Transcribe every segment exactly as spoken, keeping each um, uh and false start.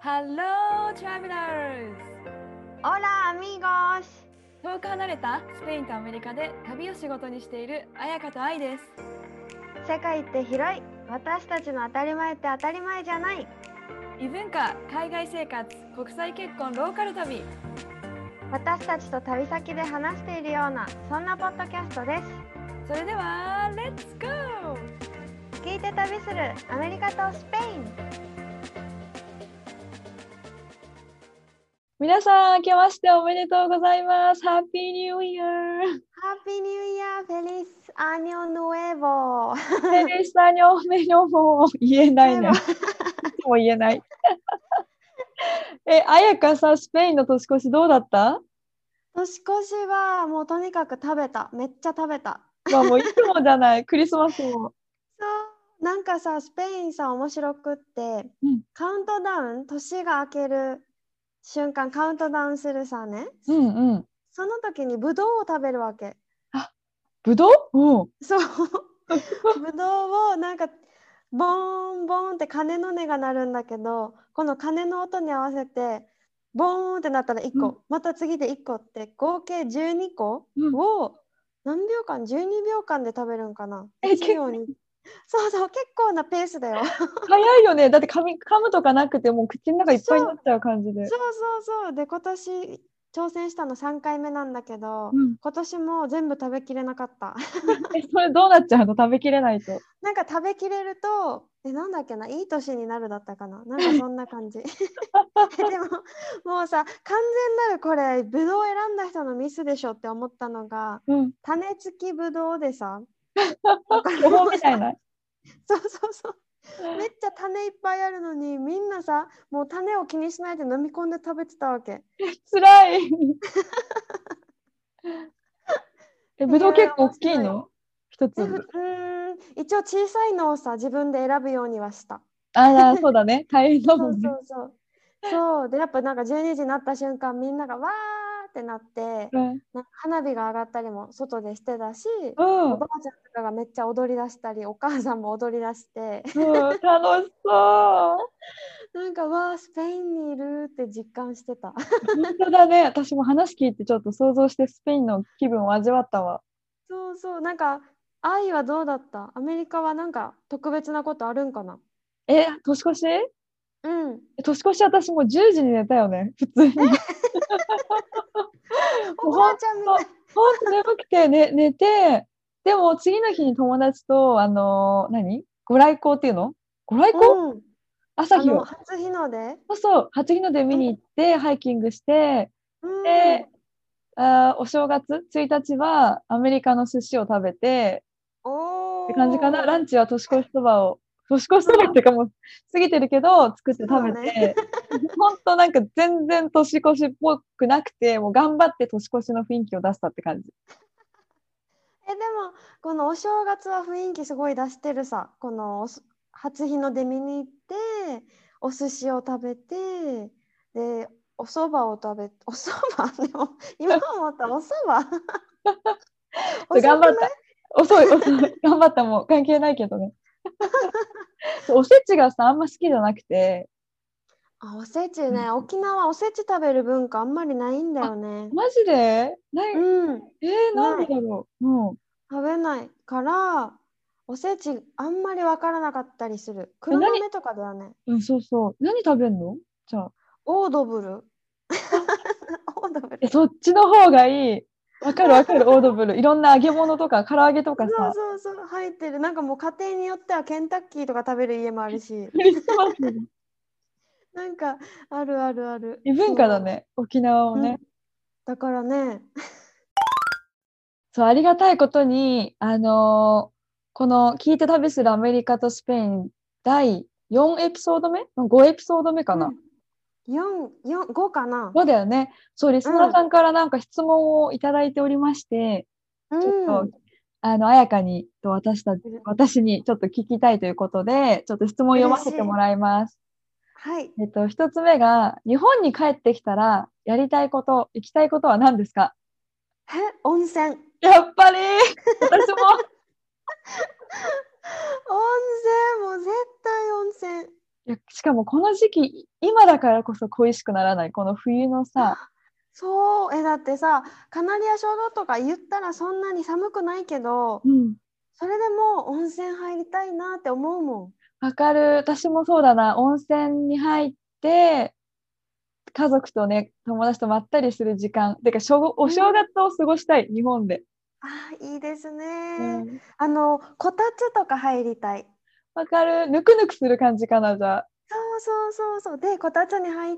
Hello, travelers! Hola, amigos! 遠く離れたスペインとアメリカで旅を仕事にしている彩香と愛です。 世界って広い。私たちの当たり前って当たり前じゃない。 異文化、海外生活、国際結婚、ローカル旅。 私たちと旅先で話しているような、そんなポッドキャストです。 それでは、レッツゴー！ 聞いて旅するアメリカとスペイン。 皆さん、明けましておめでとうございます。ハッピーニューイヤー。 ハッピーニューイヤー、フェリスアニョヌエボ。 フェリスアニョメニョも言えないね。いつも言えない。え、彩香さ、スペインの年越しどうだった？ 年越しはもうとにかく食べた。めっちゃ食べた。 まあもういつもじゃない。クリスマスも。 そうなんかさ、スペインさ面白くって、 うん、 カウントダウン、年が明ける瞬間カウントダウンするさね、 うんうん。 その時にブドウを食べるわけ。 あ、ぶどう？うん。 そうブドウをなんかボーンボーンって鐘の音が鳴るんだけど、この鐘の音に合わせてボーンってなったらいっこ、 うんまた次でいっこって合計じゅうにこうん、 を何秒間じゅうにびょうかんで食べるんかな。 え、 いち結びょうにそうそう、結構なペースだよ早いよね。だって噛み、噛むとかなくてもう口の中いっぱいになっちゃう感じで。 そうそうそう。で、今年挑戦したのさんかいめなんだけど、 うん。 今年も全部食べきれなかったえ、それどうなっちゃうの？食べきれないと。 なんか食べきれると、え、なんだっけな、いい年になるだったかな。なんかそんな感じ。でも、もうさ、完全なるこれ、ぶどう選んだ人のミスでしょって思ったのが、 うん。 種付きぶどうでさ、 巨峰みたいな。 そうそうそう。めっちゃ種いっぱいあるのに、みんなさ、もう種を気にしないで飲み込んで食べてたわけ。 つらい。え、 っていうぶどう結構大面白い。 きいの？一え、ふ粒。 うーん、一応小さいのをさ、自分で選ぶようにはした。 ああ、そうだね。大変だそうもんね。 そうそう。そうで、やっぱなんかじゅうにじになった瞬間、みんながわーってなって、 うん。 なんか花火が上がったりも外でしてたし、 うん。 おばあちゃんとかがめっちゃ踊り出したり、お母さんも踊り出して、 うん。楽しそなんかわー、スペインにいるって実感してた。 う。本当だね。私も話聞いてちょっと想像してスペインの気分を味わったわ。 そうそう、なんか、愛はどうだった？アメリカはなんか特別なことあるんかな？ え、年越し？ うん。 年越し私もうじゅうじに寝たよね。普通に。もうほんおばあちゃんみたい。 と、ほんと眠くて、ね、寝て、でも次の日に友達と、あのー何ご来光っていうの？ご来光？ うん。あの、 朝日を。 初日の出。 そうそう、初日の出見に行って、ハイキングして、 うん。 で、あー、お正月ついたちはアメリカの寿司を食べて、って感じかな。ラおー。 ンチは年越しそばを、年越しそばっていうかもう過ぎてるけど、作って食そうね。 べて、ほんとなんか全然年越しっぽくなくて、もう頑張って年越しの雰囲気を出したって感じ。 え、でも、このお正月は雰囲気すごい出してるさ。このおす初日の出見に行って、お寿司を食べて、で、お蕎麦を食べ、お蕎麦でも、今思ったお蕎麦遅くない？ 頑張った。遅い、遅い。頑張った。もう関係ないけどね。おせちがさ、あんま好きじゃなくて。 あ、おせちね。沖縄おせち食べる文化あんまりないんだあ、 よね。 マジでない？ うん。 えー、なんない。 でだろう。うん。 食べないから、おせちあんまりわからなかったりする。 え、何？ 黒豆とかだよね。 うん、そうそう。何食べんの？じゃあ。 オードブル。 あ、 オードブル。 え、そっちの方がいい。わかるわかる、オードブル。いろんな揚げ物とか、唐揚げとそうかさ、 そうそう、入ってる。なんかもう家庭によってはケンタッキーとか食べる家もあるし、 クリスマスに。 なんかあるあるある。 異文化だそね、沖縄もう。うん。 ね。 だからね、 そう、ありがたいことに、あのーこの聞いて旅するアメリカとスペインだいよんエピソード目？ ご エピソード目かな？ うん。よん、よん、ごかな。 そうだよね。そう、リスナーうん。 さんからなんか質問をいただいておりまして、 うちょっと、 ん。 あの、彩香にと私たち、 うれ私にちょっと聞きたいということで、ちょっと質問を読ま嬉しい。 せてもらいます。 はい。 えっと、一つ目が、日本に帰ってきたら、やりたいこと、行きたいことは何ですか？ え、温泉。 やっぱり私も、 温泉、もう絶対温泉。 いや、しかもこの時期、今だからこそ恋しくならない。この冬のさ、 そう、え、だってさ、カナリア諸島とか言ったらそんなに寒くないけど、 うん。 それでも温泉入りたいなって思うもん。 わかる。私もそうだな。温泉に入って、家族とね、友達とまったりする時間。てか、しょおうん、 正月を過ごしたい、日本で。 あー、いいですね。 うん。 あの、こたつとか入りたい。 わかる。ぬくぬくする感じかな、じゃあ。 そうそうそうそう。で、こたつに入って、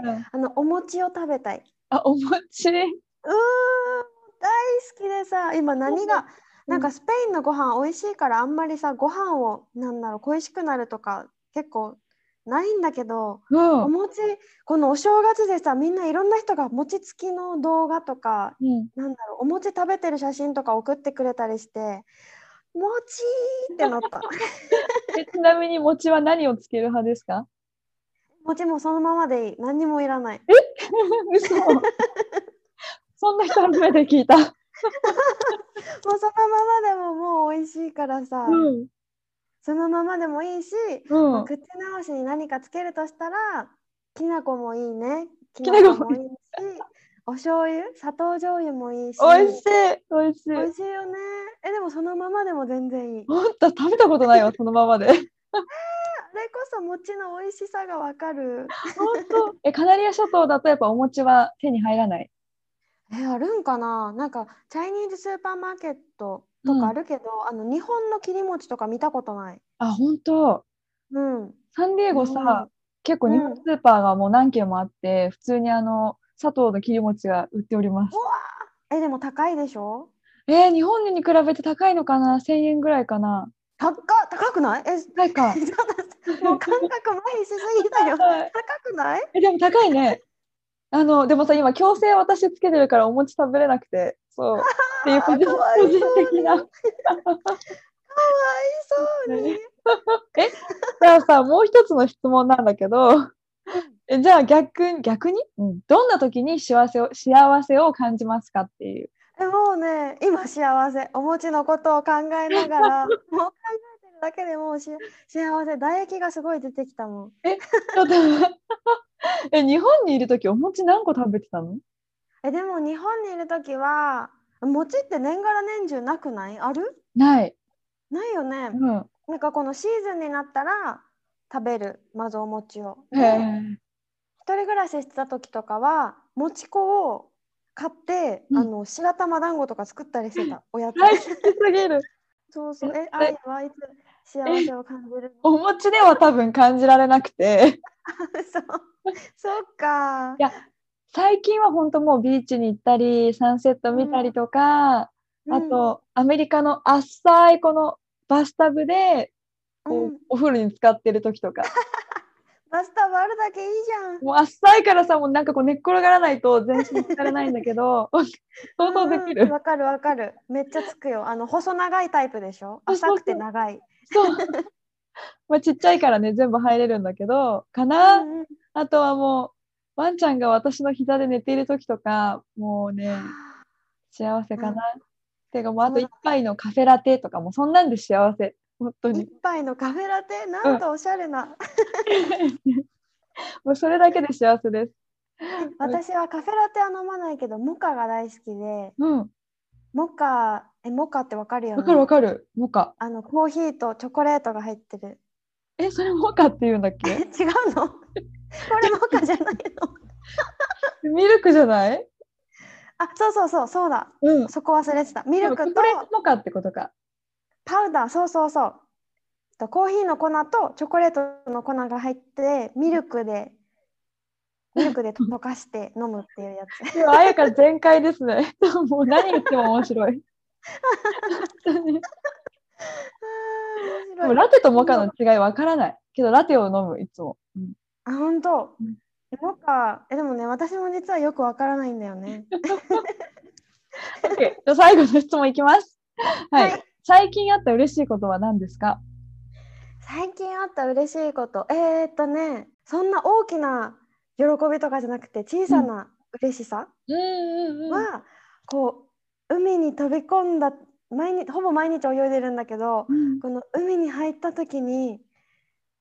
うん。 あの、お餅を食べたい。 あ、お餅。 うーん、大好きでさ、今何が、 うん。 なんかスペインのご飯美味しいからあんまりさ、ご飯を、なんだろう、恋しくなるとか結構ないんだけど、 うん。 お餅、このお正月でさ、みんないろんな人が餅つきの動画とか、 うん。 なんだろう、お餅食べてる写真とか送ってくれたりして、餅ってなった。 え、ちなみに餅は何をつける派ですか？ 餅もそのままでいい。何にもいらない。 嘘。そんな人初めて聞いた。 もうそのままでももう美味しいからうさ。 ん。 そのままでもいいし、まあ、 うん。 口直しに何かつけるとしたら、きな粉もいいね。ききなこもな粉もいいし、お醤油、砂糖醤油もいいし、 美味しい。美味しい。 美味しいよね。え、でもそのままでも全然いい。 ほんと、食べたことないわ、そのままで。 あれこそ餅の美味しさがわかる。 ほんと。え、カナリア諸島だとやっぱお餅は手に入らない？ え、あるんかな、なんか、チャイニーズスーパーマーケットとうん。 かあるけど、あの、日本の切り餅とか見たことない。 あ、ほんと。 うん。 サンディエゴさ、 ない。 結構日本うん。うスーパーがもう何軒もあって、普通にあの、砂糖の切り餅が売っております。 わー、え、でも高いでしょ？ えー日本に比べて高いのかな？ せん 円ぐらいかな？ 高っ、高くない？え、 高いか。 ちょっともう感覚麻痺しすぎだよ。 はい。 高くない？ え、でも高いね。あの、でもさ、今、強制私つけてるからお餅食べれなくて、そう。っていう個あー、 人、 かわい個人そうに。 的な。 かわいそうに。 え、じゃあさ、もう一つの質問なんだけど、 うん。 え、じゃあ逆に、逆に、うん、どんな時に幸せを、幸せを感じますかっていう。 え、もうね、今幸せ。お餅のことを考えながら、もう考えてるだけでもうし幸せ。唾液がすごい出てきたもん。 え、ちょっと待って、え、日本にいる時お餅何個食べてたの？ え、でも日本にいるときは、餅って年がら年中なくない？ある？ ない。 ないよね。 うん。 なんかこのシーズンになったら食べる、まずお餅を。 へで、 え。 一人暮らししてた時とかは、もち粉を買って、 うん。 あの白玉団子とか作ったりしてた、おやつ。 大好きすぎる。 そうそう。え、 え、 愛はいつ幸え、 せを感じるの？ お餅では多分感じられなくて。 そう、そっか。 いや、最近は本当もうビーチに行ったり、サンセット見うん、 たりとか、 うん、 あと、アメリカの浅いこのバスタブで、こう、 うん。 お風呂に浸かってる時とか。 バスタブあるだけいいじゃん。 もう浅いからさ、もうなんかこう寝っ転がらないと全身浸かれないんだけど、 う想像でんうん。 きる。 わかるわかる。めっちゃつくよ。あの、細長いタイプでしょ？ そう浅くてそうそう。 長い。 そう。まあ、ちっちゃいからね、全部入れるんだけど、かな。 うんうん。 あとはもう、ワンちゃんが私の膝で寝ている時とか、もうね、幸せうん、 かな。てかもうあとそうだ。 一杯のカフェラテとかもそんなんで幸せ。本当一に。 杯のカフェラテ、 うん。 なんとおしゃれな。 もうそれだけで幸せです。 え、私はカフェラテは飲まないけど、モカが大好きで、 うん。 モカ、え、モカってわかるよわかるわね。 かる。モカ。 あの、コーヒーとチョコレートが入ってる。 え、それモカって言うんだっえ、 け？ 違うの？これモカじゃないの？ ミルクじゃない？ あ、そうそうそう、そうだ。 うん。 そこ忘れてた。ミでもチルクとョコレートモカってことか。 パウダー、そうそうそう。とコーヒーの粉とチョコレートの粉が入って、ミルクで、ミルクで溶かして飲むっていうやつ。 でも、あやか全開ですね。もう何言っても面白い。本当に。 あー、面でも白い。 ラテとモカそう、 の違いわからない。けどラテを飲む、いつも。うん。 あ、本当。 うん。 え、モカ、え、でもね、私も実はよくわからないんだよね。 OK。じゃあ最後の質問いきます。はい。 はい。 最近あった嬉しいことは何ですか？ 最近あった嬉しいこと。えーっとね、そんな大きな喜びとかじゃなくて、小うん。 さな嬉しさうんうんうん。 は、こう、海に飛び込んだ、毎日、ほぼ毎日泳いでるんだけど、 うん。 この海に入った時に、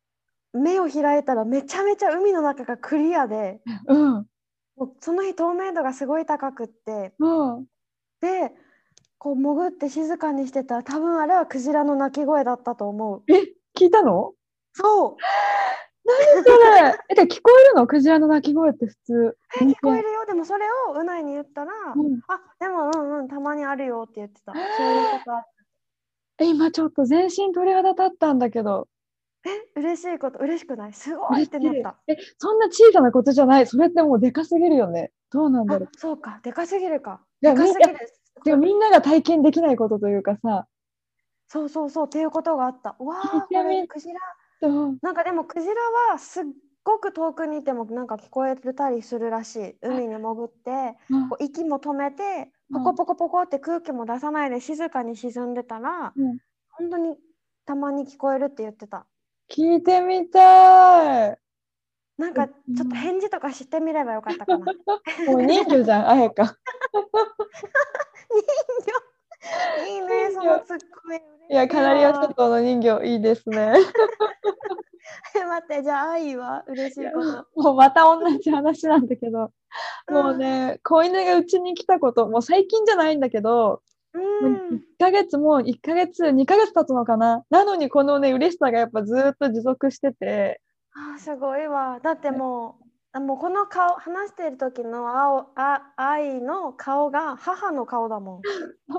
目を開いたらめちゃめちゃ海の中がクリアで、 うん。 もうその日透明度がすごい高くって、 うん。 でこう潜って静かにしてたら、多分あれはクジラの鳴き声だったと思う。 え、聞いたの？ そう何それ。え、で聞こえるの？クジラの鳴き声って普通。 え人間。 聞こえるよ。でもそれをうないに言ったら、 うん。 あでもうんうんたまにあるよって言ってた。そういうことある。 え、今ちょっと全身鳥肌立ったんだけど。 え嬉しいこと、嬉しくない？すごいっ嬉しい。 てなった。 え、そんな小さなことじゃない。それってもうでかすぎるよね。どうなんだろう。 あそうか、でかすぎるか。でいや、みん、いや、 かすぎる。 でもみんなが体験できないことというかさ、 そうそうそうっていうことがあった。わ聞いあこてみれクジラ。 と、 なんかでもクジラはすっごく遠くにいてもなんか聞こえたりするらしい。海に潜ってうんこう息も止めてポうんコポコポコって空気も出さないで静かに沈んでたら、 うん、 本当にたまに聞こえるって言ってた。 聞いてみたい。 なんかちうん、 ょっと返事とかしてみればよかったかな。 もう人魚じゃん、あやか。 人魚いいね、その人魚。 ツッコミいや、 嬉しいカナリア諸わ。 島の人魚、いいですね。 え待って、じゃあ愛は嬉しいや、 いこと。 もうまた同じ話なんだけど、もううんね、子犬がうちに来たこと、もう最近じゃないんだけど、 うもう1 ん。 ヶ月もういっかげつ、にかげつ経つのかな。なのにこのね、嬉しさがやっぱずーっと持続してて、 あーすごいわ。だってもう、あもうこの顔、話している時の青、あ、愛の顔が母の顔だもん。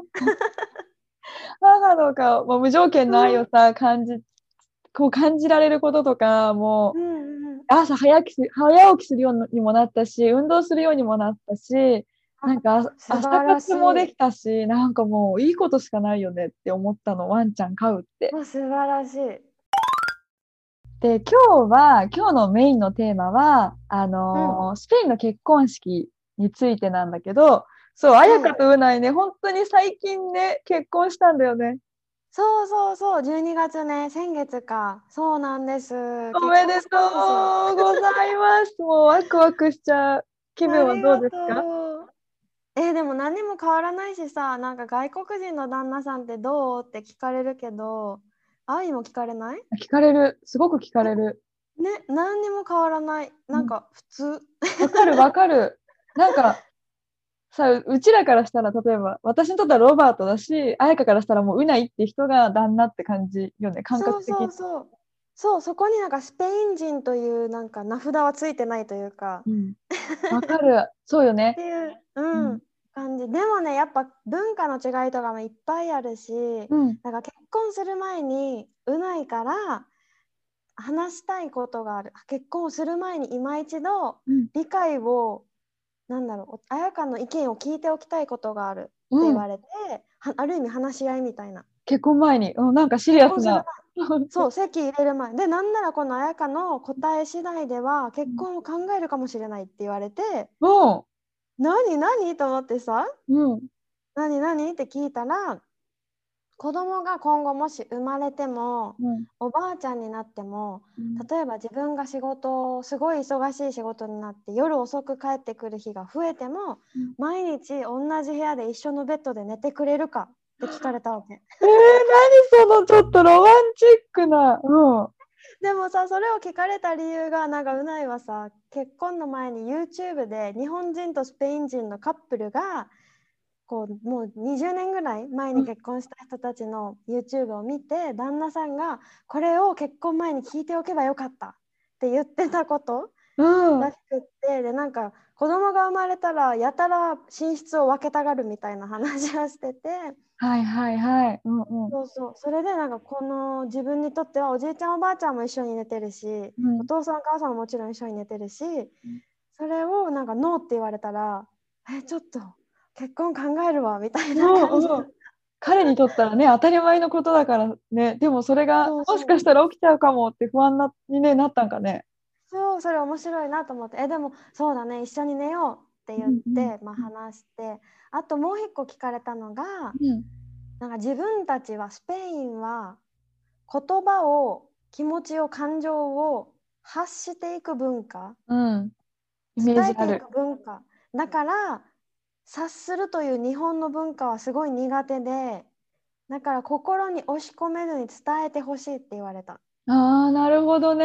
母の顔、もう無条件の愛うんをさ、感じ、こう感じられることとか、もう、 うんうん。 朝早起きす、早起きするようにもなったし、運動するようにもなったし、 あ、 なんかあ素朝晴らし活もできい。 たし、なんかもういいことしかないよねって思ったの、ワンちゃん飼うって。 あ、素晴らしい。 で、今日は、今日のメインのテーマは、あうん。 のースペインの結婚式についてなんだけど、そう、あやはい。 かとうないね、本当に最近ね、結婚したんだよね。 そうそうそう、じゅうにがつね、先月か。そうなんです。結婚しおめでとたんですよ。 うございます。もうワクワクしちゃう。気分はどうありがですか？ とう。えーでも何にも変わらないしさ、なんか外国人の旦那さんってどうって聞かれるけど、愛も聞かれない？ 聞かれる。すごく聞かれる。 ね、何にも変わらない。 うん、 なんか普通。 わかるわかる。なんかさ、ううちらからしたら、例えば、私にとってはロバートだし、彩香からしたらもううないって人が旦那って感じよね、感そう覚的に。 そうそう。そう、そこになんかスペイン人というなんか名札はついてないというか。 うん。わかる。そうよね。 っていう、 うん。 うん、感じ。でもね、やっぱ文化の違いとかもいっぱいあるし、 うん。 なんか結婚する前にうないから話したいことがある。結婚する前に今一度うん。 理解を、なんだろう、彩香の意見を聞いておきたいことがあるってうん。 言われて、はある意味話し合いみたいな。 結婚前に。うん、なんかシリ結婚するアスな。 そう、籍入れる前で、なんならこの彩香の答え次第では結うん。 婚を考えるかもしれないって言われて、 う何何と思ってさ、 ん。うん。 何何って聞いたら、子供が今後もし生まれても、 うん。 おばあちゃんになっても、 うん。 例えば自分が仕事、すごい忙しい仕事になって夜遅く帰ってくる日が増えても、 うん。 毎日同じ部屋で一緒のベッドで寝てくれるかって聞かれたわけ。 えー、何そのちょっとロマンチックな。うん。 でもさ、それを聞かれた理由が、なんかうないはさ、結婚の前に YouTube で日本人とスペイン人のカップルがこうもうにじゅうねんぐらい前に結婚した人たちの YouTube を見て、旦那さんがこれを結婚前に聞いておけばよかったって言ってたことうん。うん。 らしくって、でなんか子供が生まれたらやたら寝室を分けたがるみたいな話をしてて、 はいはいはい。うんうん。 そうそう、それでなんかこの自分にとってはおじいちゃんおばあちゃんも一緒に寝てるし、 うん。 お父さんお母さんももちろん一緒に寝てるし、それをなんかノーって言われたら、えちょっと結婚考えるわみたいな感じ。 うんうん。彼にとったらね、当たり前のことだからね、でもそれがそうそうもしかしたら起きちゃうかもって不安なに、ね、なったんかね。 そう、それ面白いなと思って、えでもそうだね、一緒に寝ようって言っうんうんて、まあ、話して、あともう一個聞かれたのが、 うんなんか自分たちはスペインは言葉を、気持ちを、感情を発していく文化、 うん、イメージある。 伝えていく文化だから、察するという日本の文化はすごい苦手で、だから心に押し込めずに伝えてほしいって言われた。 ああ、なるほどね。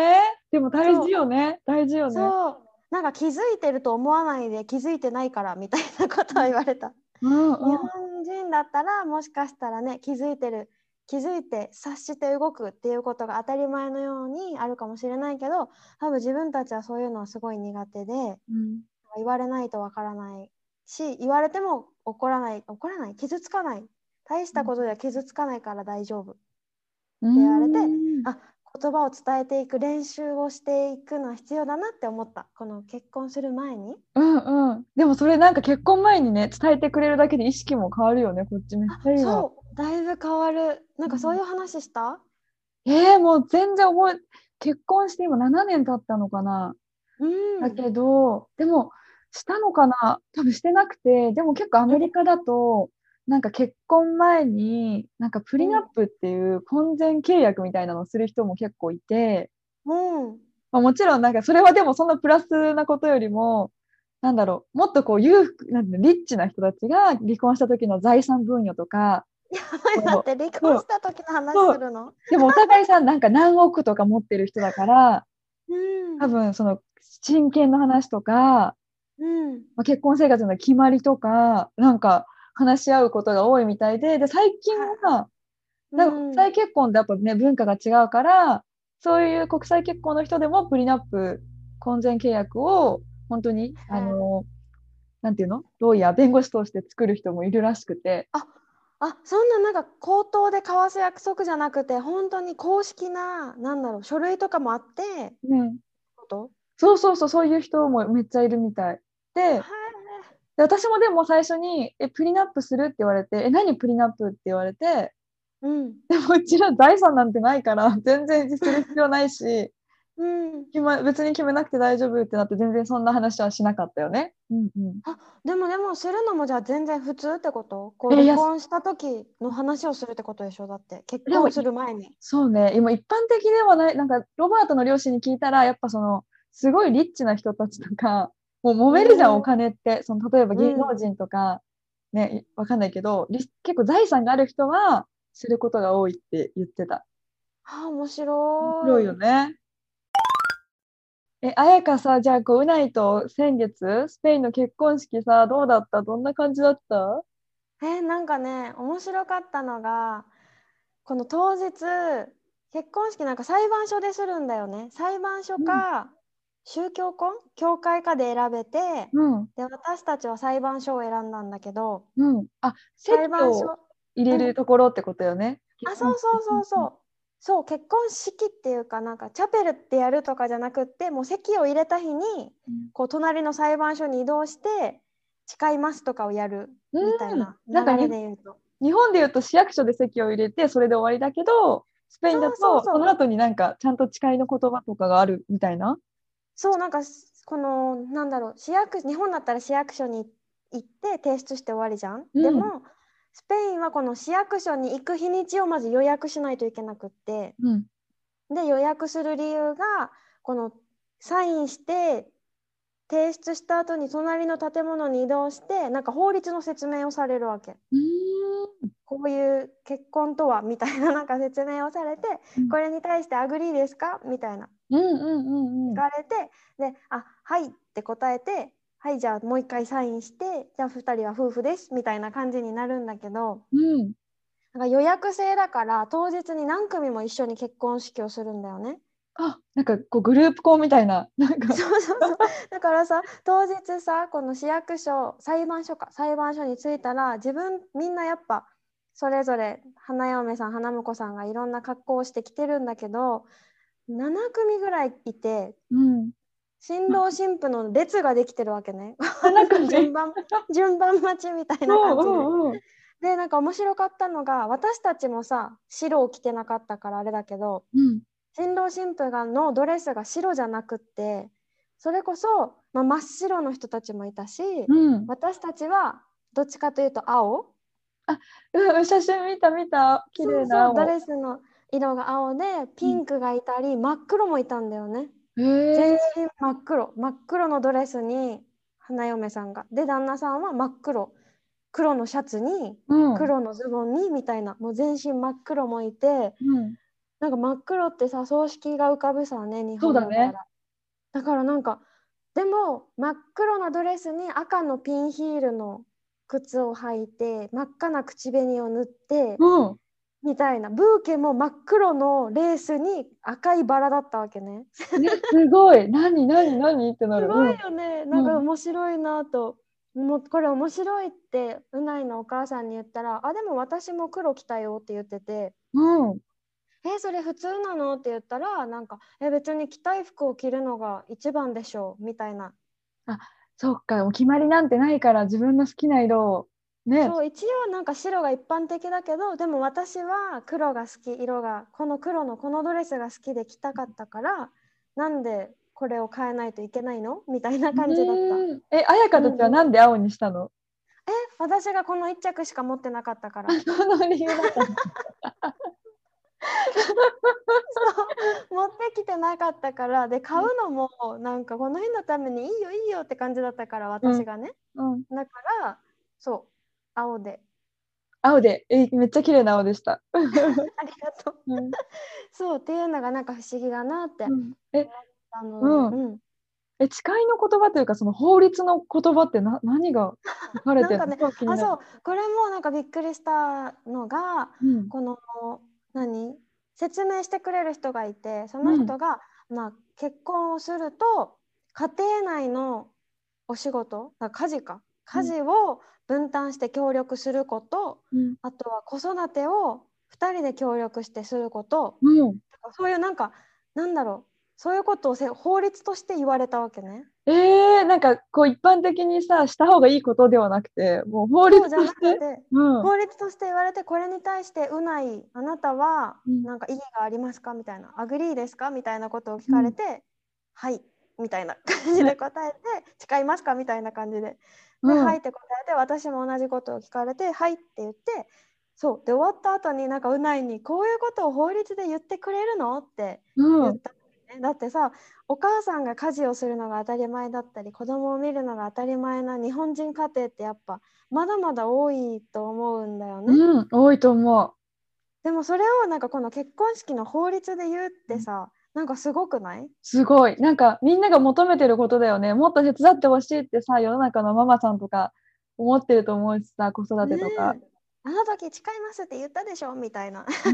でも大事よね。大事よね。 そう。なんか気づいてると思わないで気づいてないからみたいなことを言われた。 うんうん日本人だったらもしかしたらね気づいてる気づいて察して動くっていうことが当たり前のようにあるかもしれないけど、多分自分たちはそういうのはすごい苦手で、 うん言われないとわからないし、言われても怒らない怒らない傷つかない、大したことでは傷つかないから大丈夫ってう言われて、 んあ、言葉を伝えていく練習をしていくのは必要だなって思った。この結婚する前に。 うんうん。でもそれなんか結婚前にね、伝えてくれるだけで意識も変わるよね。こっちめっあ、 ちゃいいわ。 そうだいぶ変わる。なんかそういう話した？ えー、もう全然覚え、結婚して今ななねん経ったのかな。 うんだけど、でも、したのかな多分してなくて、でも結構アメリカだと、なんか結婚前に、なんかプリナップっていう婚前契約みたいなのをする人も結構いて、 うんまあ、もちろんなんかそれはでもそんなプラスなことよりも、なんだろう、もっとこう裕福、なんていうのリッチな人たちが離婚した時の財産分与とか、 やばい、待こって、離うそう婚した時の話そうするの？ でもお互いさ、なんか何億とか持ってる人だから、 うん多分その親権の話とか、 うんまあ、結婚生活の決まりとか、なんか話し合うことが多いみたいで、で、最近はは、なんか国うん際結婚ってやっぱね、文化が違うから、そういう国際結婚の人でもプリナップ、婚前契約を本当に、あの、なんていうのロイヤー、弁護士として作る人もいるらしくて。 ああ、そんななんか口頭で交わす約束じゃなくて本当に公式な、なんだろう、書類とかもあってうん。 こと？ そうそうそう、そういう人もめっちゃいるみたい。で、 はで私もでも最初に、え、プリナップするって言われて、え、何プリナップって言われて、 い。うんでもうちら財産なんてないから、全然する必要ないし、 うん決ま、別に決めなくて大丈夫ってなって、全然そんな話はしなかったよね。うんうん。 あ、でもでもするのもじゃあ全然普通ってこと？こうえ、い離や、 婚した時の話をするってことでしょ？だって結でも、 婚すいる前に。 そうね、今一般的ではない、なんか、ロバートの両親に聞いたら、やっぱその、すごいリッチな人たちとか、もう揉めるじゃん、おうん金って。その、例えば芸うん能人とか、ね、わかんないけど、リ結構財産がある人は、することが多いって言ってた。 あ、面面白い白い。 よね。え、あやかさ、じゃあ、こう、うないと先月、スペインの結婚式さ、どうだった？どんな感じだった？ えーなんかね面白かったのが、この当日結婚式なんか裁判所でするんだよね。裁判所うん、 か宗教婚教会かで選べて、 うん、 で私たちは裁判所を選んだんだけど、 うん。あ、 裁判所、 席を入れうん、 るところってことよね。結あ、そ婚式。 うそううんうんそうそう、そう結婚式っていうかなんかチャペルってやるとかじゃなくって、もう席を入れた日にうんこう隣の裁判所に移動して誓いますとかをやるみたいうん、 な流なんかにれで言うと。 日本で言うと市役所で席を入れてそれで終わりだけど、スペインだそうそうとそのそう後になんかちゃんと誓いの言葉とかがあるみたいな。 そうなんかこのなんだろう、市役日本だったら市役所に行って提出して終わりじゃん。でうん、 もスペインはこの市役所に行く日にちをまず予約しないといけなくって、 うん、 で予約する理由がこのサインして提出した後に隣の建物に移動してなんか法律の説明をされるわけ。 うーん、 こういう結婚とはみたいななんか説明をされて、 うん、 これに対してアグリーですかみたいなうん、うん、うん、 聞かれて、で、あ、はいって答えて、はい、じゃあもう一回サインして、じゃあふたりは夫婦ですみたいな感じになるんだけど、 うん。 なんか予約制だから当日に何組も一緒に結婚式をするんだよね。 あ、なんかこうグループ校みたいな、なんか、 そうそうそう。だからさ、当日さ、この市役所、裁判所か、裁判所に着いたら、自分みんなやっぱそれぞれ花嫁さん、花婿さんがいろんな格好をしてきてるんだけど、なな組ぐらいいて、 うん。 新郎新婦の列ができてるわけね。 あ、なんかね、 順番順番待ちみたいなうん感じで。 うんうん。 でなんか面白かったのが、私たちもさ白を着てなかったからあれだけど、 うん。 新郎新婦がのドレスが白じゃなくって、それこそ、まあ、真っ白の人たちもいたし、 うん。 私たちはどっちかというと青、 あ、うん、写真見た見た。綺麗そうそう、ドな青。 レスの色が青でピンクがいたり真っ黒もいたんだよね。 へ全え。 身真っ黒、真っ黒のドレスに花嫁さんが、で旦那さんは真っ黒、黒のシャツにうん。 黒のズボンにみたいな、もう全身真っ黒もいて、 うん。 なんか真っ黒ってさ、葬式が浮かぶさね、日そうだね。 本だったら。だからなんか、でも真っ黒なドレスに赤のピンヒールの靴を履いて、真っ赤な口紅を塗ってうん。 みたいな、ブーケも真っ黒のレースに赤いバラだったわけね。 ね、すごい。何、何、何ってなる。 すごいよね。なんかうん。 面白いなと。もうこれ面白いってうないのお母さんに言ったら、あ、でも私も黒着たよって言ってて、 うん。うん。 え、それ普通なのって言ったら、なんか、え、別に着たい服を着るのが一番でしょうみたいな。 あ、そっか。お決まりなんてないから自分の好きな色を。ね。 そう、一応なんか白が一般的だけど、でも私は黒が好き、色が、この黒のこのドレスが好きで着たかったから、なんでこれを変えないといけないのみたいなう感じだった。 ーん。え、彩香たちはうん、 なんで青にしたの？ え、私がこの一着しか持ってなかったかあ、 ら。 その理由だったの。 そう持ってきてなかったから、で買うのもなんかこの日のためにいいよいいよって感じだったから、 うん。 私がね。 うん。 だからそう青で。 青で、え、めっちゃ綺麗な青でした。 ありがとう。 うん。 そうっていうのがなんか不思議だなってうん。え、 思ったので、 うん。 うん、 え、誓いの言葉というか、その法律の言葉ってな、何が書かれてるの？ なんかね、 超気になる。 あ、そう、これもなんかびっくりしたのが、 うん。 この何説明してくれる人がいて、そうん。 の人が、まあ、結婚をすると家庭内のお仕事、だから家事かうん。 家事を分担して協力すること、 うん。 あとは子育てをふたりで協力してすること、 うん。 そういうなんかなんだろう、そういうことをせ法律として言われたわけね。 えー、なんかこう一般的にさ、した方がいいことではなくて、もう法律そうじゃとして。 なくて、 うん。 法律として言われて、これに対してうない、あなたはうん。 なんか異議がありますかみたいな、アグリーですかみたいなことを聞うん。 かれて、はいみたいな感じね。 で答えて、誓いますかみたいな感じで、で、 うん。 はいって答えて、私も同じことを聞かれて、はいって言って、そうで終わった後になんかうないに、こういうことを法律で言ってくれるのってうん。 言ったのね。だってさ、お母さんが家事をするのが当たり前だったり、子供を見るのが当たり前な日本人家庭ってやっぱまだまだ多いと思うんだよね。 うん。多いと思でもそれをなんかこの結婚式の法律で言うっう。うん。 てさ、なんかすごくない？ すごい。なんかみんなが求めてることだよね。もっと手伝ってほしいってさ、世の中のママさんとか思ってると思うしさ、子育ねてとか。 え。あの時誓いますって言ったでしょみたいな。 うん、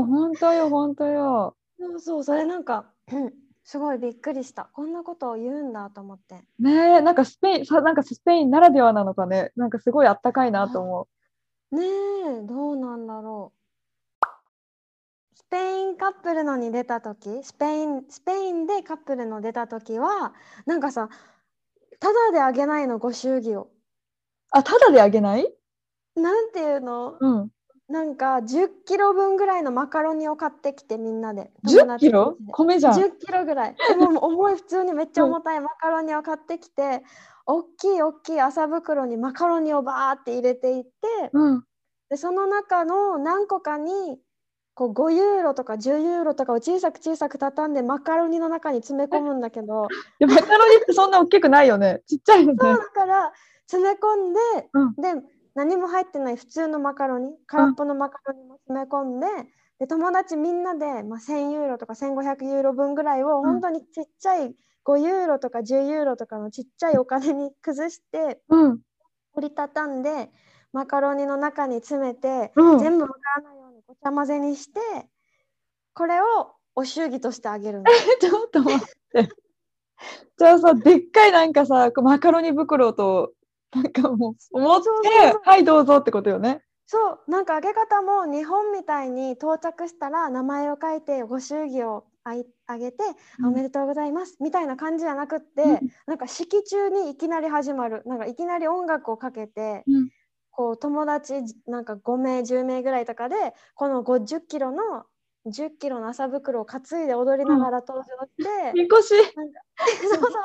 本当よ、本当よ。 そうそう、それなんかすごいびっくりした。こんなことを言うんだと思って。 ねえ、なんかスペイン、さ、なんかスペインならではなのかね。なんかすごいあったかいなとあ、 思ねえ、どうなんだろう。スペインカップルのに出た時、スペイン、スペインでカップルの出た時は、なんかさ、ただであげないの、ご祝儀を。 う。あ、ただであげない？ なんていうの、 うん。 なんかじゅっキロぶんぐらいのマカロニを買ってきて、みんなで、 10 友達キロ同士で。 米じゃん。 じゅっキロぐらい。え、もう重い、普通にめっちゃうん。 重たいマカロニを買ってきて、大きい大きい麻袋にマカロニをバーって入れていって、 うん。 で、その中の何個かに、こうごユーロとかじゅうユーロとかを小さく小さく畳んでマカロニの中に詰め込むんだけど、 で、マカロニってそんな大きくないよね。ちっちゃいよそうね。 だから詰め込んで、 うん。 で何も入ってない普通のマカロニ、 うん。 空っぽのマカロニも詰め込んで、で友達みんなで、まあ、せんユーロとかせんごひゃくユーロ分ぐらいをうん。 本当にちっちゃいごユーロとかじゅうユーロとかのちっちゃいお金に崩してうん。 折りたたんでマカロニの中に詰めて、 うん。 全部わからないようにごちゃ混ぜにして、これをお祝儀としてあげるの。 ちょっと待って。じゃあさ、でっかいなんかさ、こうマカロニ袋と、なんかもう、持っそうそうそて、 う。 はい、どうぞってことよね。 そう、なんかあげ方も日本みたいに到着したら名前を書いてご祝儀をあいあげて、 うん。 おめでとうございますみたいな感じじゃなくっうん。 て、なんか式中にいきなり始まる、なんかいきなり音楽をかけて、 うん。 こう友達なんかごめいじゅうめいぐらいとかでこのごじゅっキロのじゅっキロの麻袋を担いで踊りなうん。 がら登場して、 みこし。 なんかそうそうそう、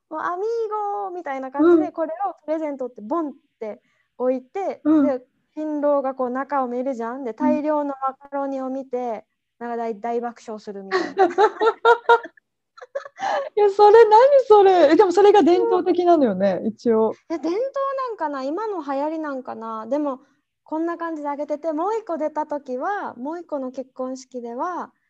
もうアミーゴみたいな感じうん。 でこれをプレゼントってボンって置いて、 うん。 で新郎がこう中を見るじゃん、でうん。 大量のマカロニを見てなんか大、大爆笑するみたいな。 いや、それ何それ。え、でもそれが伝統的なのよね、一応。 え、伝統なんかな、今の流行りなんかな。でもこんな感じであげてて、もう一個出た時はもう一個の結婚式では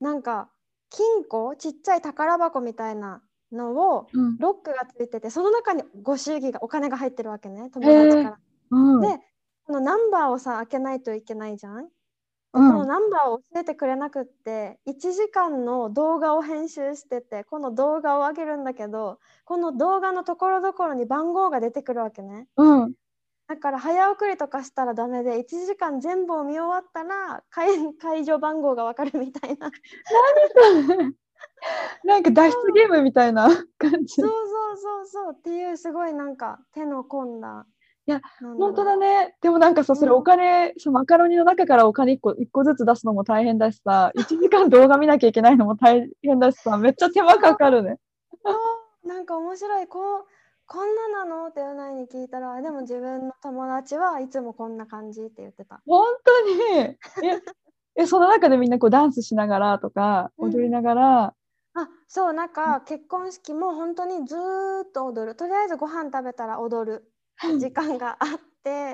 なんか金庫、ちっちゃい宝箱みたいなのをうん。 ロックがついてて、その中にご祝儀がお金が入ってるわけね、友へえ。 達から。 うん。 で、このナンバーをさ開けないといけないじゃん。で、このうん。 ナンバーを教えてくれなくって、いちじかんの動画を編集してて、この動画を上げるんだけど、この動画のところどころに番号が出てくるわけね。 うん。 だから早送りとかしたらダメで、いちじかん全部を見終わったら会会場番号がわかるみたいな。 何それ。なんか脱出ゲームみたいな感じ。 そうそうそうそうっていう、すごいなんか手の込んだ、 いや、 なんだ本当ろう。 だね。でもなんかさ、それうんお金、そのマカロニの中からお金いっこ、一個ずつ出すのも大変だしさ、いちじかん動画見なきゃいけないのも大変だしさ、めっちゃ手間かかるね。 そうなんか面白い、こうこんななのってうないに聞いたら、でも自分の友達はいつもこんな感じって言ってた。 本当に。え、え、その中でみんなこうダンスしながらとか、 うん踊りながら、 あ、そうなんか結婚式も本当にずーっと踊る。とりあえずご飯食べたら踊る時間があって、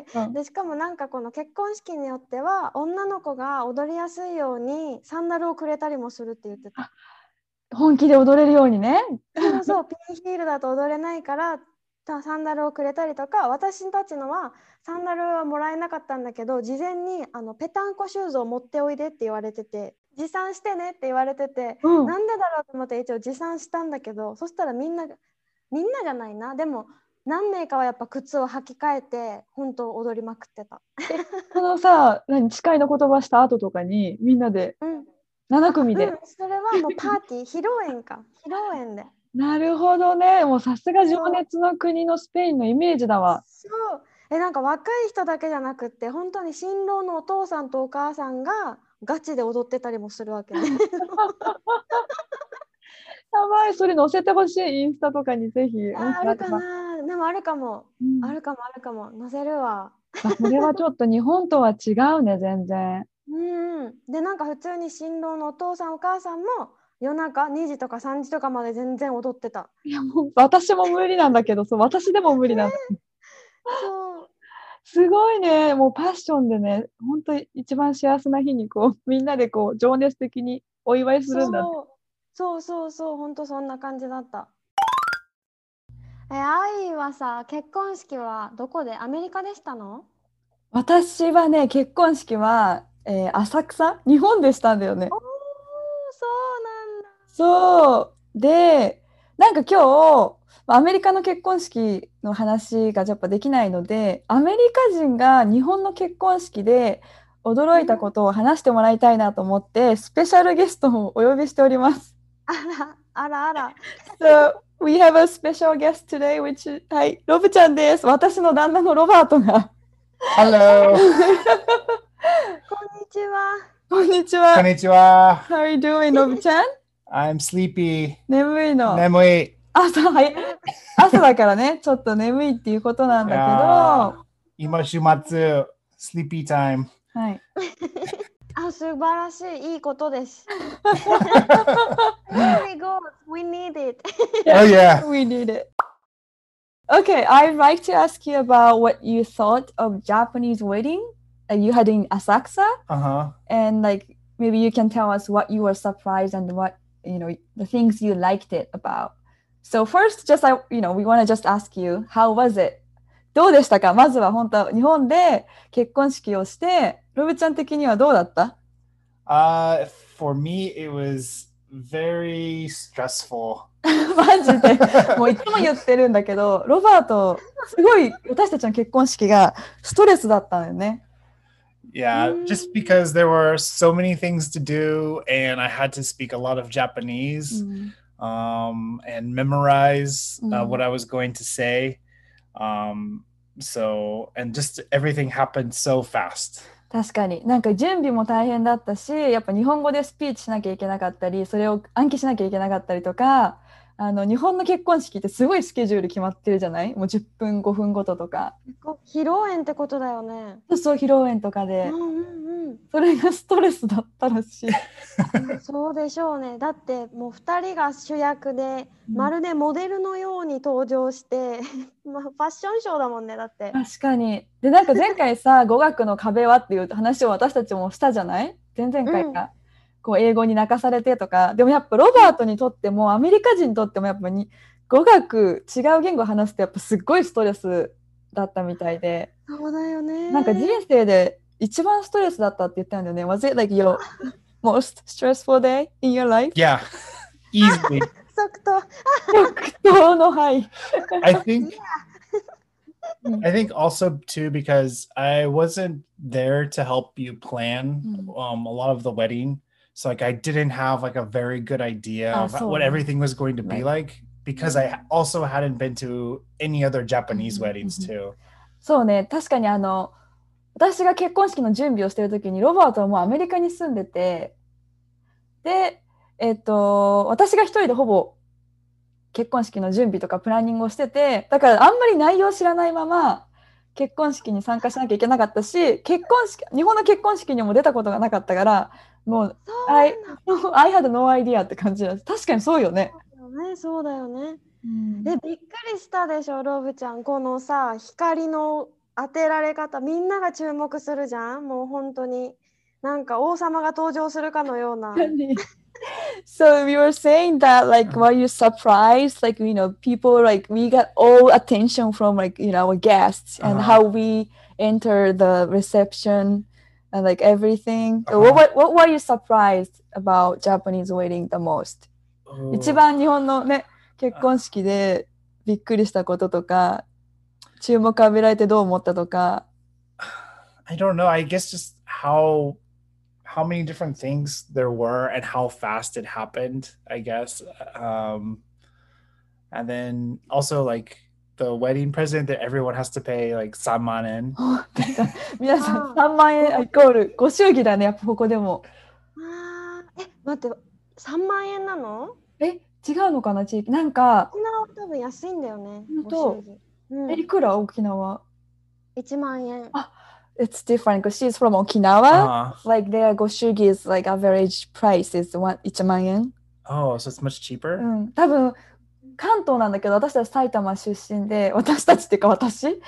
うん、 でしかもなんかこの結婚式によっては女の子が踊りやすいようにサンダルをくれたりもするって言ってた。 本気で踊れるようにね。 そうそう、ピンヒールだと踊れないからたサンダルをくれたりとか、私たちのはサンダルはもらえなかったんだけど、事前にあのペタンコシューズを持っておいでって言われてて、持参してねって言われてて、 うん。 なんでだろうと思って一応持参したんだけど、そしたらみんながみんなじゃないな、でも何名かはやっぱ靴を履き替えて本当踊りまくってた。 そのさ、何、誓いの言葉した後とかに、みんなでうんなな組で。 うん、それはもうパーティー披露宴か披露宴で。 なるほどね。もうさすが情そう熱の国のスペインのイメージだわ。 そうえなんか若い人だけじゃなくって本当に新郎のお父さんとお母さんがガチで踊ってたりもするわけね。 やばい、それ載せてほしい、インスタとかにぜひ。もしああるかあれば。 な、でもあるかも、 うん、 あるかもあるかも載せるわ。 あ、それはちょっと日本とは違うね、全然。 うんうんでなんか普通に新郎のお父さんお母さんも夜中にじとかさんじとかまで全然踊ってた。 いや、もう私も無理なんだけど、そう、私でも無理なんだ。 そうすごいね。もうパッションでね、本当に一番幸せな日にこう、みんなでこう、情熱的にお祝いするんだね。 そうそうそうそう本当そんな感じだった。え、愛はさ、結婚式はどこで？アメリカでしたの？ 私はね、結婚式は、えー浅草日本でしたんだよね。 おー、そうなんだ。 そう。で、なんか今日、まあアメリカの結婚式の話がやっぱできないので、アメリカ人が日本の結婚式で驚いたことを話してもらいたいなと思って、スペシャルゲストをお呼びしております。 あら、あらあら。 So, we have a special guest today, which, はい、ロブちゃんです。私の旦那のロバートが。 Hello. こんにちは。 こんにちは。 Konnichiwa. How are you doing, ロブちゃん？ I'm sleepy. 眠いの。 Nemui. 朝、はい。朝だからね、ちょっと眠いっていうことなんだけど、は Ima shumatsu. Sleepy time. い。 あ、素晴らしい。いいことです。Very good. We need it. Oh yeah. We need it. Okay, I'd like to ask you about what you thought of Japanese wedding that you had in Asakusa, Uh-huh. and like maybe you can tell us what you were surprised and what, you know, the things you liked it about. So first, just I, you know, we want to just ask you, how was it? どうでしたか？まずは本当日本で結婚式をして、ロブちゃん的にはどうだった？ Uh, for me, it was very stressful. マジでもういつも言ってるんだけど、ロバートすごい私たちの結婚式がストレスだったんだよね。 Yeah, just because there were so many things to do and I had to speak a lot of Japanese um, and memorize uh, what I was going to say. Um, so, and just everything happened so fast. 確かになんか準備も大変だったし、やっぱ日本語でスピーチしなきゃいけなかったり、それを暗記しなきゃいけなかったりとか、あの日本の結婚式ってすごいスケジュール決まってるじゃない？もうじゅっぷんごふんごととか。 披露宴ってことだよね。 そうそう、披露宴とかで、 うんうんうん。 それがストレスだったらしい。 そうでしょうね。だってもうふたりが主役で、まるでモデルのように登場して、まあ、ファッションショーだもんね。だって確かに。でなんか前回さ語学の壁はっていう話を私たちもしたじゃない？前々回か、 こう英語に泣かされてとか、でもやっぱロバートにとってもアメリカ人にとってもやっぱに語学違う言語を話すとやっぱすっごいストレスだったみたいで、 そうだよね。 なんか人生で一番ストレスだったって言ったんだよね。Was it like your most stressful day in your life? Yeah, easily. 即答。 即答のはい。 I think I think also too because I wasn't there to help you plan um, a lot of the wedding. So like I didn't have like a very good idea Ah, of so- what everything was going to be Right. like because I also hadn't been to any other Japanese Mhm, weddings mhm. too. そうね、確かにあの私が結婚式の準備をしてる時にロバートはもうアメリカに住んでて、で、えっと、私が一人でほぼ結婚式の準備とかプランニングをしてて、だからあんまり内容を知らないまま結婚式に参加しなきゃいけなかったし、結婚式、日本の結婚式にも出たことがなかったから、もう、 そう I, なんだ I had no idea って感じです。確かにそうよね。 よね。そうだよね。 うんえ、びっくりしたでしょ、ロブちゃん。このさ、光の当てられ方、みんなが注目するじゃん。もう本当に。なんか王様が登場するかのような。 So we were saying that like were you surprised like you know people like we got all attention from like you know our guests and Uh-huh. how we enter the reception and like everything. So Uh-huh. what, what were you surprised about Japanese wedding the most? Oh. 一番日本のね結婚式でびっくりしたこととか注目浴びられてどう思ったとか。 I don't know. I guess just how how many different things there were and how fast it happened, I guess. Um, and then also like the wedding present that everyone has to pay likeさんまんえん. 皆さあーんさんまんえんイコールご祝儀だね、やっぱここでも。 あーえ、待って、さんまんえんなの？ え、違うのかな地域。なんか、 沖縄は多分安いんだよね。 本当ご祝儀うんえ、いくら沖縄？ いちまんえん。 あ、It's different because she's from Okinawa. Uh, Like their goshūgi is like average price is one いちまんえん。 oh, so it's much cheaper? うん、多分関東なんだけど私たち埼玉出身で、私たちっていうか私で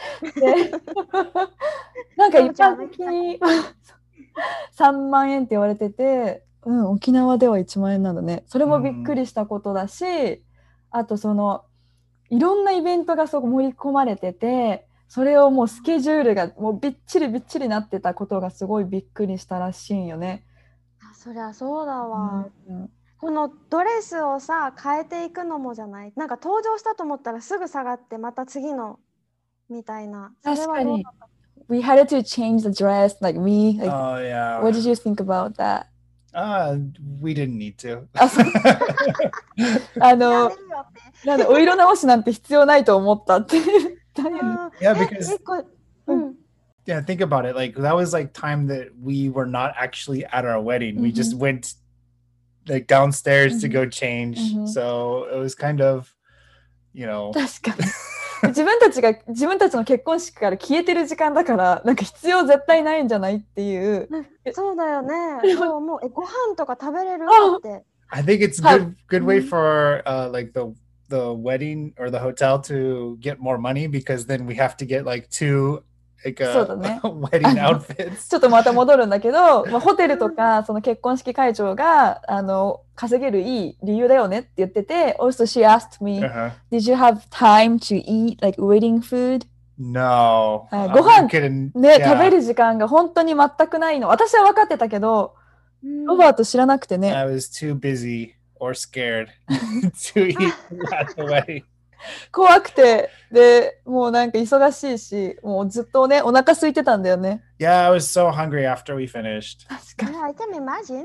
なんか一般的にさんまんえんって言われてて、うん、沖縄ではいちまんえんなんだね。それもびっくりしたことだし、あとそのいろんなイベントがそこ盛り込まれてて、それをもうスケジュールがもうびっちりびっちりなってたことがすごいびっくりしたらしいんよね。 あ、そりゃそうだわ。 うんこのドレスをさ、変えていくのもじゃない？なんか登場したと思ったらすぐ下がってまた次のみたいな。それ確かにはどうだった？ We had to change the dress like me. Like, Oh yeah. what did you think about that? Uh, we didn't need to. あ、そうあやのれるよって。 なんでお色直しなんて必要ないと思ったって言ったよね。 うん Yeah, え、 because 一個、うん。 yeah, think about it. Like that was like time that we were not actually at our wedding. We just went like downstairs to Mhm. go change. Mhm. So it was kind of, you know. 確かに自分たちが自分たちの結婚式から消えてる時間だからなんか必要絶対ないんじゃないっていう。 そうだよね。そうもうえご飯とか食べれるあって。 I think it's How- good good way Mhm. for uh like the the wedding or the hotel to get more money because then we have to get like two like そうだね。 uh, wedding outfits. ちょっとまた戻るんだけど、まあ、ホテルとかその結婚式会場があの稼げるいい理由だよねって言ってて、Also she asked me, Uh-huh. did you have time to eat like wedding food? No. Uh, Uh, ご飯 you couldn't- ね、 yeah. 食べる時間が本当に全くないの。私は分かってたけど、ロバート知らなくてね。 I was too busy or scared to eat at the wedding. 怖くて、で、もうなんか忙しいし、もうずっとね、お腹空いてたんだよね。 Yeah, I was so hungry after we finished. 確かに。 Yeah, I can imagine.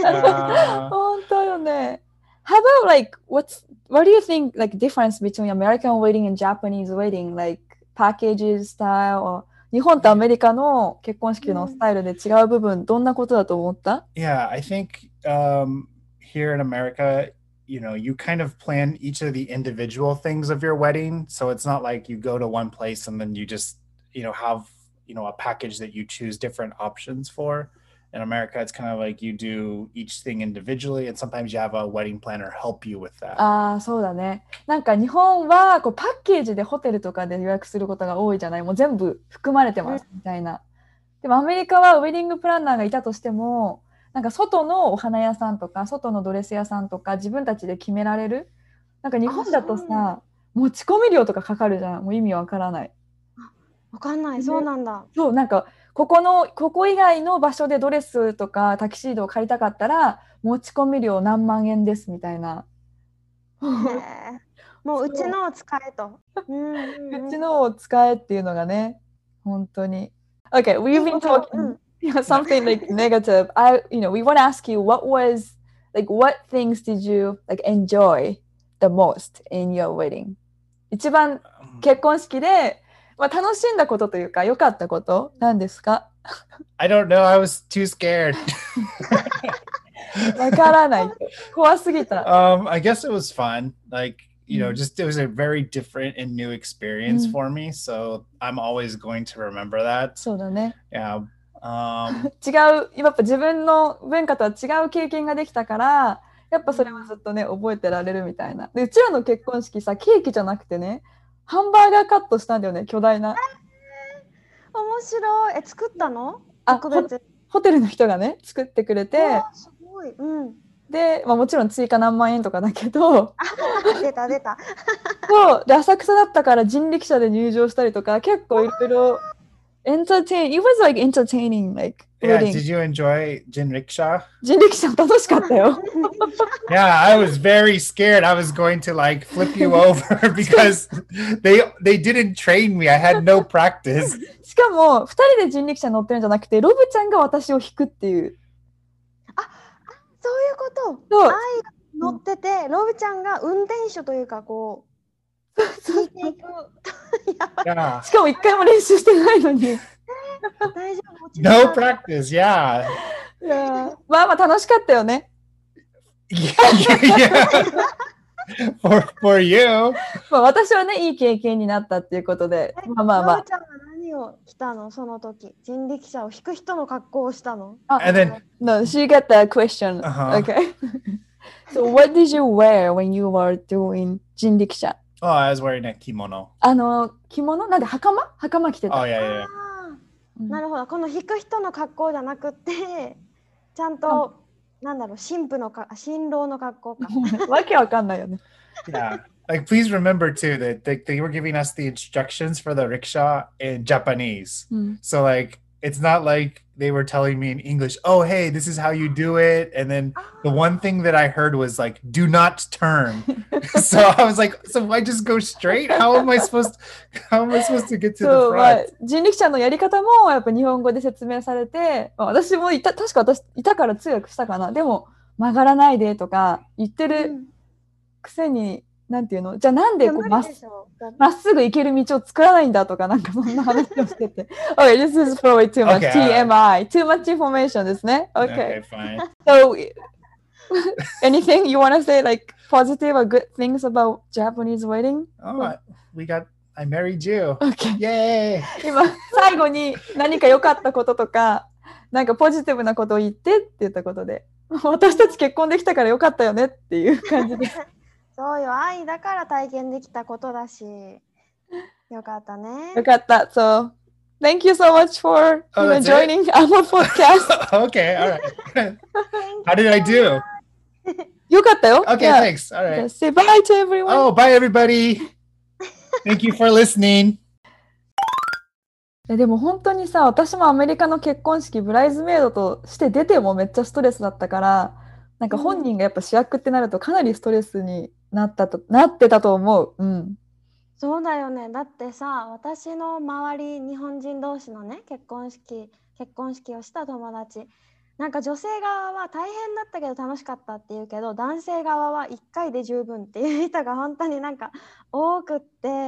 Uh, 本当よね。How about like, what's, what do you think like difference between American wedding and Japanese wedding? Like packages style or 日本とアメリカの結婚式のスタイルで違う部分、どんなことだと思った？ yeah, I think um, here in America, you know, you kind of plan each of the individual things of your wedding. So it's not like you go to one place and then you just, you know, have, you know, a package that you choose different options for. In America, it's kind of like you do each thing individually, and sometimes you have a wedding planner help you with that. ああ、そうだね。なんか日本はこうパッケージでホテルとかで予約することが多いじゃない。もう全部含まれてますみたいな。でもアメリカはウェディングプランナーがいたとしても、 なんか外のお花屋さんとか外のドレス屋さんとか自分たちで決められる。なんか日本だとさ、持ち込み料とかかかるじゃん。もう意味わからない。 わかんない。そうなんだ。 そう、なんかここのここ以外の場所でドレスとかタキシードを借りたかったら持ち込み料何万円ですみたいな。 へえ。もううちのを使えと。うんうんうん、 うちのを使えっていうのがね、本当に。Okay, we've been talking something like negative. I, you know, we want to ask you what was like what things did you like enjoy the most in your wedding? 一番結婚式で、まあ、楽しんだことというか良かったこと何ですか？ I don't know. I was too scared. わからない。怖すぎた。 Um, I guess it was fun. Like, you know, Mm. just it was a very different and new experience Mm. for me. So I'm always going to remember that. そうだね。 Yeah. Um, 違う、やっぱ自分の文化とは違う経験ができたから、やっぱそれはずっとね、覚えてられるみたいな。で、うちらの結婚式さ、ケーキじゃなくてね、ハンバーガーカットしたんだよね、巨大な。 面白い。え、作ったの？ あ、 特別。 ホテルの人がね、作ってくれて、 わあ、すごい。うん。 で、まあ、もちろん追加何万円とかだけど、 出た出た。 そうで、浅草だったから人力車で入場したりとか、結構いろいろ、entertain, it was like entertaining, like, yeah. wedding. Did you enjoy Jin Rickshaw? 人力車楽しかったよ。 Yeah, I was very scared. I was going to like flip you over because they they didn't train me. I had no practice. しかも、ふたりで人力車乗ってるんじゃなくて、ロブちゃんが私を引くっていう。 そういうこと。 そう。 愛が乗ってて、ロブちゃんが運転手というか、こう、引いていく。やばい。 Yeah. しかも一回も練習してないのに。 大丈夫。落ち着 No かない practice. Yeah. いやまあまあ楽しかったよね。 Yeah. yeah. For for you. まあ私はね、いい経験になったっていうことで、まあまあまあ。 ロブちゃんは何を着たのその時。人力車を引く人の格好をしたの？ あ、 And then No, she got the question. Uh-huh. Okay. So what did you wear when you were doing 人力車? oh, I was wearing a kimono. あの、着物なんで袴袴着てた。 Oh yeah, yeah. あうんーなるほど。この引く人の格好じゃなくて、ちゃんと、なんだろう、新婦のか、新郎の格好か。 わけわかんないよね。 Yeah. Like, please remember too that they, they were giving us the instructions for the rickshaw in Japanese. うん So like, it's not like they were telling me in English, oh, hey, this is how you do it. And then the one thing that I heard was like, do not turn. So I was like, so I just go straight? How am I supposed to, how am I supposed to get to そ the う、まあ front? 人力車のやり方もやっぱ日本語で説明されて、まあ私もいた、確か私いたから通訳したかな。でも曲がらないでとか言ってうるんくせに、なんていうのじゃあなんいや無でこうまっ理でしょ。 まっすぐ行ける道を作らないんだとかなんかそんな話をしてて。Okay, this is probably too much. Okay, T M I. Too much information ですね。Okay. Okay, fine. So, anything you want to say like positive or good things about Japanese wedding? Oh, I- we got, I married you. Okay. Yay. 今、最後に何か良かったこととか、なんかポジティブなことを言ってって言ったことで、私たち結婚できたから良かったよねっていう感じです。 そうよ、愛だから体験できたことだし。よかったね。 よかった。So, thank you so much for Oh, you know, that's it? joining our podcast. Okay, all right. How did I do? よかったよ。 Okay, Yeah. thanks. All right. Just say bye to everyone. Oh, bye, everybody. Thank you for listening. えでも本当にさ、私もアメリカの結婚式ブライズメイドとして出てもめっちゃストレスだったから、なんか本人がやっぱ主役ってなるとかなりストレスになったと、なってたと思う。うん。 そうだよね。だってさ、私の周り、日本人同士のね、結婚式、結婚式をした友達、なんか女性側は大変だったけど楽しかったって言うけど、男性側はいっかいで十分っていう人が本当になんか多くって、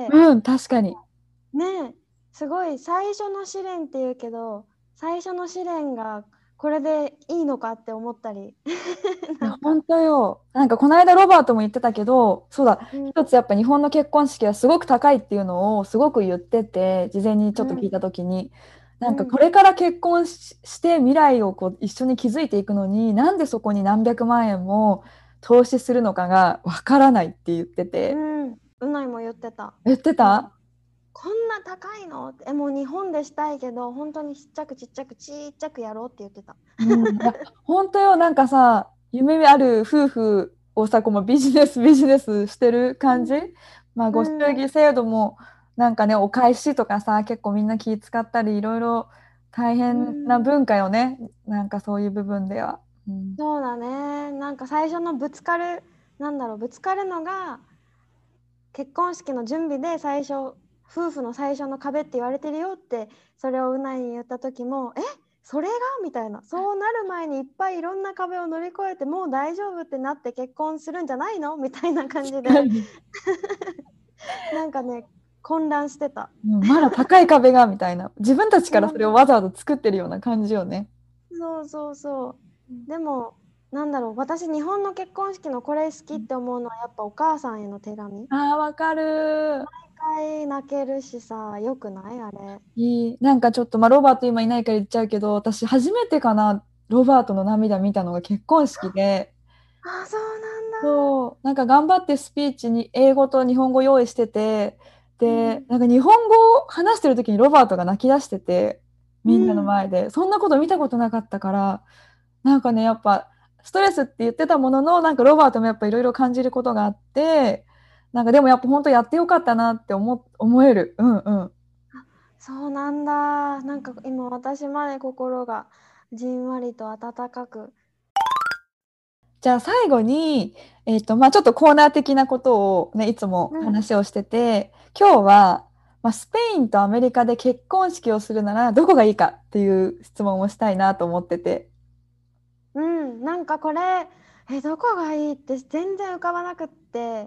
うん、確かに。 ねえ、すごい最初の試練って言うけど、最初の試練がこれでいいのかって思ったり。 いや本当よ。なんかこの間ロバートも言ってたけど、そうだ、 うん一つやっぱ日本の結婚式はすごく高いっていうのをすごく言ってて、事前にちょっと聞いたときに、なんかこれから結婚し、して未来をこう一緒に築いていくのに、なんでそこに何百万円も投資するのかがわからないって言ってて、 うん、うないも言ってた。 言ってたこんな高いのって、えもう日本でしたいけど本当にちっちゃくちっちゃくちっちゃくやろうって言ってた。 うん、いや本当よ、なんかさ、夢ある夫婦をさ、こうビジネスビジネスしてる感じ、まあ、ご祝儀制度もなんかね、お返しとかさ、結構みんな気使ったり、いろいろ大変な文化よね、なんかそういう部分では。うん、 そうだね。なんか最初のぶつかる、なんだろう、ぶつかるのが結婚式の準備で最初、夫婦の最初の壁って言われてるよって、それをうないに言った時も、えそれがみたいな、そうなる前にいっぱいいろんな壁を乗り越えてもう大丈夫ってなって結婚するんじゃないのみたいな感じでなんかね、混乱してた。 うん、まだ高い壁がみたいな、自分たちからそれをわざわざ作ってるような感じよね。 そうそうそう。でもなんだろう、私日本の結婚式のこれ好きって思うのはやっぱお母さんへの手紙。 あー、わかる。 毎回泣けるしさ、よくないあれ。 いい。なんかちょっと、まあ、ロバート今いないから言っちゃうけど、私初めてかな、ロバートの涙見たのが結婚式で、 あ、そうなんだ。 そう、なんか頑張ってスピーチに英語と日本語用意してて、で、 うんなんか日本語を話してる時にロバートが泣き出してて、みんなのうん前で、そんなこと見たことなかったから、なんかね、やっぱストレスって言ってたものの、なんかロバートもやっぱいろいろ感じることがあって、なんかでもやっぱ本当やってよかったなって思、思える。うんうん。 そうなんだ。なんか今私まで心がじんわりと温かく。 じゃあ最後に、えっと、まあちょっとコーナー的なことをね、いつもうん話をしてて、今日は、まあ、スペインとアメリカで結婚式をするならどこがいいかっていう質問をしたいなと思ってて。 うん、なんかこれ、え、どこがいいって全然浮かばなくって、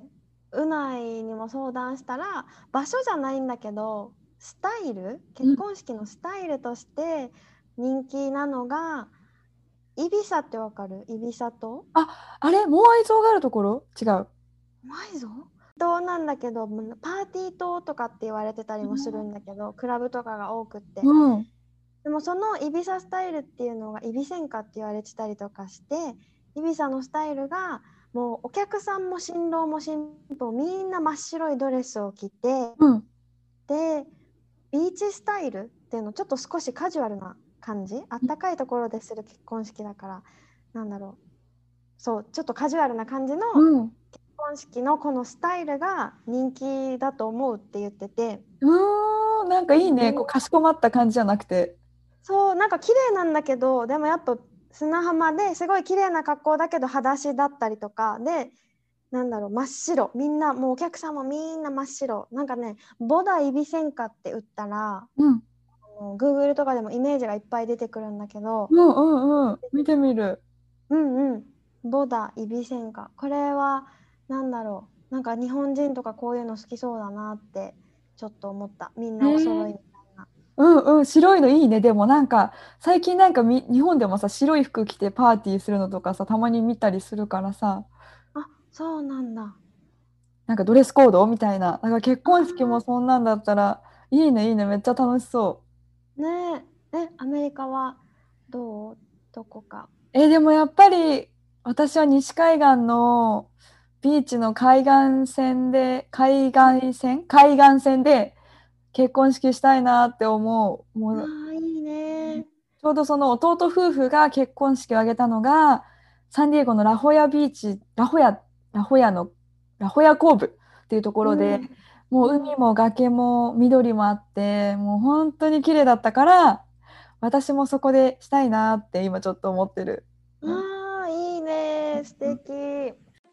うないにも相談したら、場所じゃないんだけど、スタイル、結うん、 婚式のスタイルとして人気なのが、イビサってわかる？イビサ島？ あ、あれモアイ像があるところ違う。 ないぞ。島なんだけど、パーティー島とかって言われてたりもするんだけど、クラブとかが多くって。 うん。 でもそのイビサスタイルっていうのがイビセンカって言われてたりとかして、イビサのスタイルがもうお客さんも新郎も新婦もみんな真っ白いドレスを着て、 うん。 でビーチスタイルっていうの、ちょっと少しカジュアルな感じ、あったかいところでする結婚式だから、なんだろう、そうちょっとカジュアルな感じのうん。 結婚式のこのスタイルが人気だと思うって言ってて、 うーん、なんかいいね。こう、かしこまった感じじゃなくて。 そうなんか綺麗なんだけど、でもやっぱ砂浜ですごい綺麗な格好だけど裸足だったりとかで、なんだろう、真っ白、みんなもうお客さんもみんな真っ白、なんかね、ボダイビセンカって打ったらうん。 Google とかでもイメージがいっぱい出てくるんだけど、 うんうんうん。見てみる。 うんうん、ボダイビセンカ、これはなんだろう、なんか日本人とかこういうの好きそうだなってちょっと思った。みんへなお揃いえ。 みたいな。 うんうん、白いのいいね。でもなんか最近なんかみ日本でもさ、白い服着てパーティーするのとかさ、たまに見たりするからさ、 あ、そうなんだ。 なんかドレスコードみたいな。なんか結あ婚式もそんなんだったら、いいねいいね、めっちゃ楽しそーねえ、え、アメリカはどう？どこか。 う。え、でもやっぱり私は西海岸のビーチの海岸線で、海岸線海岸線で結婚式したいなって思う。もうああ、いいね。 ちょうどその弟夫婦が結婚式を挙げたのが、サンディエゴのラホヤビーチ、ラホヤ、ラホヤの、ラホヤコーブっていうところで、 うん。 もううん。 海も崖も緑もあって、もう本当に綺麗だったから、私もそこでしたいなって今ちょっと思ってる。うん、 ああ、いいね。素敵。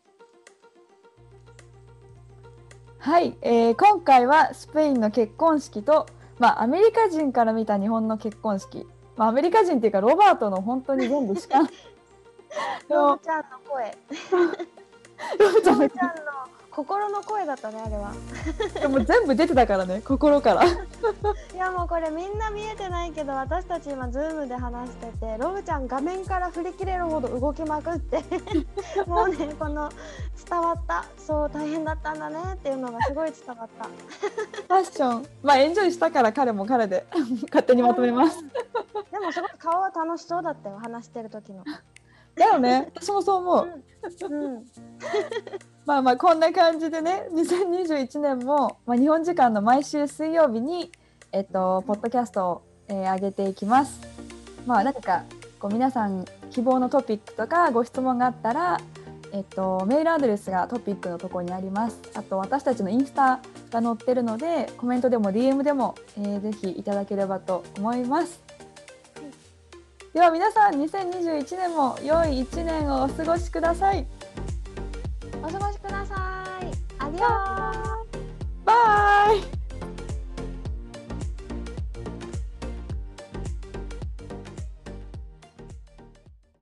はい、えー今回はスペインの結婚式と、まあ、アメリカ人から見た日本の結婚式、まあ、アメリカ人っていうかロバートの本当に全部しかのロブちゃんの声。 ロバちゃんのロブちゃんの心の声だったね、あれは。 でも全部出てたからね、心から。 いやもうこれみんな見えてないけど、私たち今ズームで話してて、ロブちゃん画面から振り切れるほど動きまくってもうね、この伝わった、そう大変だったんだねっていうのがすごい伝わった。 ファッション、まあエンジョイしたから彼も彼で勝手にまとめます。 でもすごい顔は楽しそうだったよ、話してる時の。 だよね、私もそう思う。 うん、うんまあまあこんな感じでね、にせんにじゅういちねんも、まあ、日本時間の毎週水曜日に、えっと、ポッドキャストを、えー上げていきます。まあ何かこう皆さん希望のトピックとかご質問があったら、えっと、メールアドレスがトピックのところにあります。あと私たちのインスタが載ってるので、コメントでも ディーエム でも、えー、ぜひいただければと思います。では皆さん、にせんにじゅういちねんも良いいちねんをお過ごしください。 お過ごしください。アディオー。